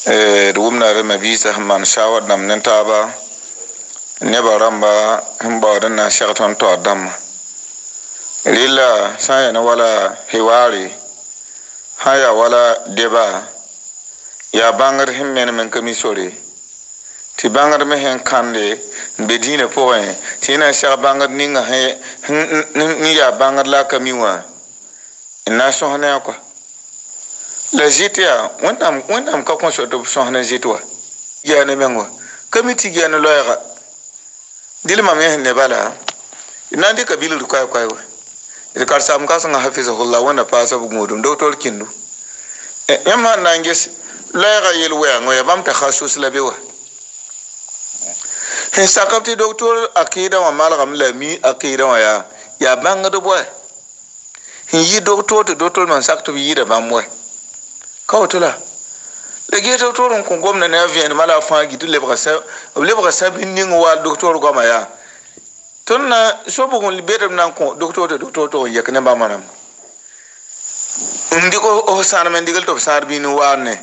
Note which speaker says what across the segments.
Speaker 1: wumna re mabisa man shawar nam nan taba ne baramba himbawadan na shaqton to dam lilla saya na wala hiwari haya wala deba ya bangar himmen men kamisore ti bangar me hen kande bedina poe ti na sha bangar ninga he ni ya bangar la kamiwa ina so hana ko la jitia wonam ka kon so to so hana jitwa ya ne mengo kamiti ya ne loya dilma me ne bala ina de kabilu ko ko ida kar sam ka sanga hafizahullah wana pasa bu modum doctor kindu yamma nanges loya yel wa ngoya bam ta khasus la bewa he sakapti doctor akida wa malgam la mi akida wa ya banga do boy yi doctor to doctor man sakto yi da bamwe kawtula le ge doctor ko gomna na vien mala fa gi le bra sa bin ni wa doctor goma ya tonna so bu gon libedam nan ko doctor to yakne ba manam ndiko o sana men digal to sar bin wa ne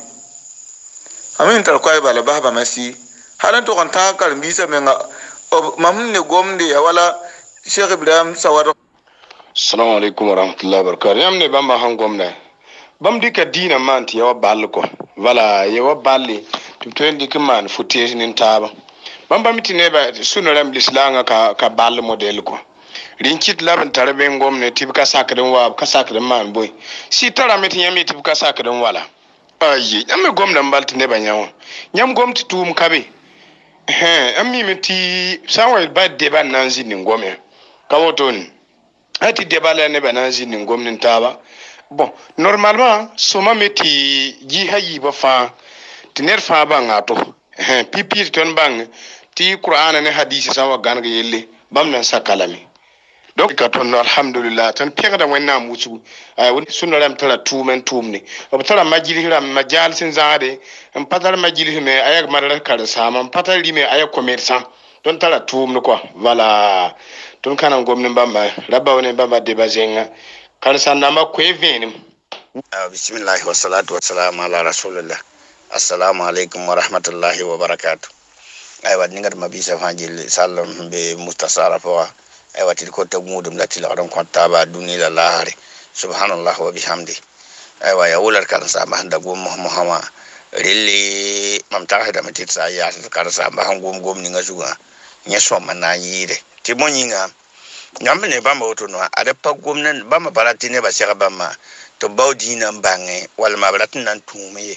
Speaker 1: amin tar koy bala baba masi halan to kon ta kar bisa men mam ne gomde ya wala Sheikh Ibrahim Sawado.
Speaker 2: Assalamu alaikum warahmatullahi wabarakatuh. Yamne bamba han gomna bam dika dina manti yawa bal ko wala yawa balli to tendi man futi nin taba bamba mitine ba sunu ram lislanga ka bal model ko rinkit laban tarbe gomne tibka sakadin wa ka sakadin man boy si tara mitin yami tibka sakadin wala ayi yamme gomna balti ne banyawo nyam gomti tum kabe ammi miti sawa ba de ban nanzi nin gome kawoton ati de bala ne bananzi nin gomnin taba bon normalement soma meti ji hayi ba fa tiner fa ba ngato pipi ton bang ti qur'an ne hadisi sawa ganga yelle bam nan sakalami donc ka ton alhamdulillah tan pegda wanna musu ay woni sunna ram tala tumen tumni o tala majili ram majal sin zaade en patal majili me ayak marar kar sama patal lime ayak commerçant don tala tumni quoi voilà ton kana gomni bamba rabba woni bamba de bazenga kar sanama ko evenim.
Speaker 3: Bismillah wa salatu wa salam ala rasulillah. Assalamu alaikum wa rahmatullahi wa barakatuh. Aywa ningat mabisa fanjil sallam be mustasara fa aywa til ko tagmudum latil adam ko taba dunila lahari subhanallah wa bihamdi. Aywa ya wular kan sa mahanda gum muhammad rilli mam tahida matit sa ya kan sa maham gum ninga suga nyeso manayire timonyinga nyamne bamba otono ada pa gomnan bamba baratine ba sega bamba to bawdina mbange wala ma baratin nan tume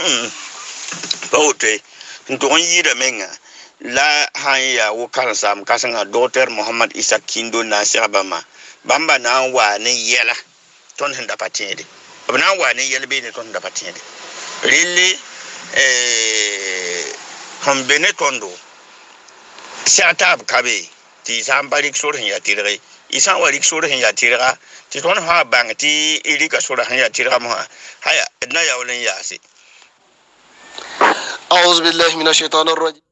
Speaker 3: bawte nton yida menga la hanya wo kan sam kasanga docteur Muhammad Isa Kindo na sega bamba na wa ne yela ton hinda patede bana wa ne yela be ne ton da patede really hambene tondo shatab kabe ti sambalik sur hin ya tirre isan walik sur hin ya tirra ti ton ha bang ti ilika sur hin ya tirra mo haya na ya wulen ya si
Speaker 4: a'udhu billahi minash shaitanir rajim.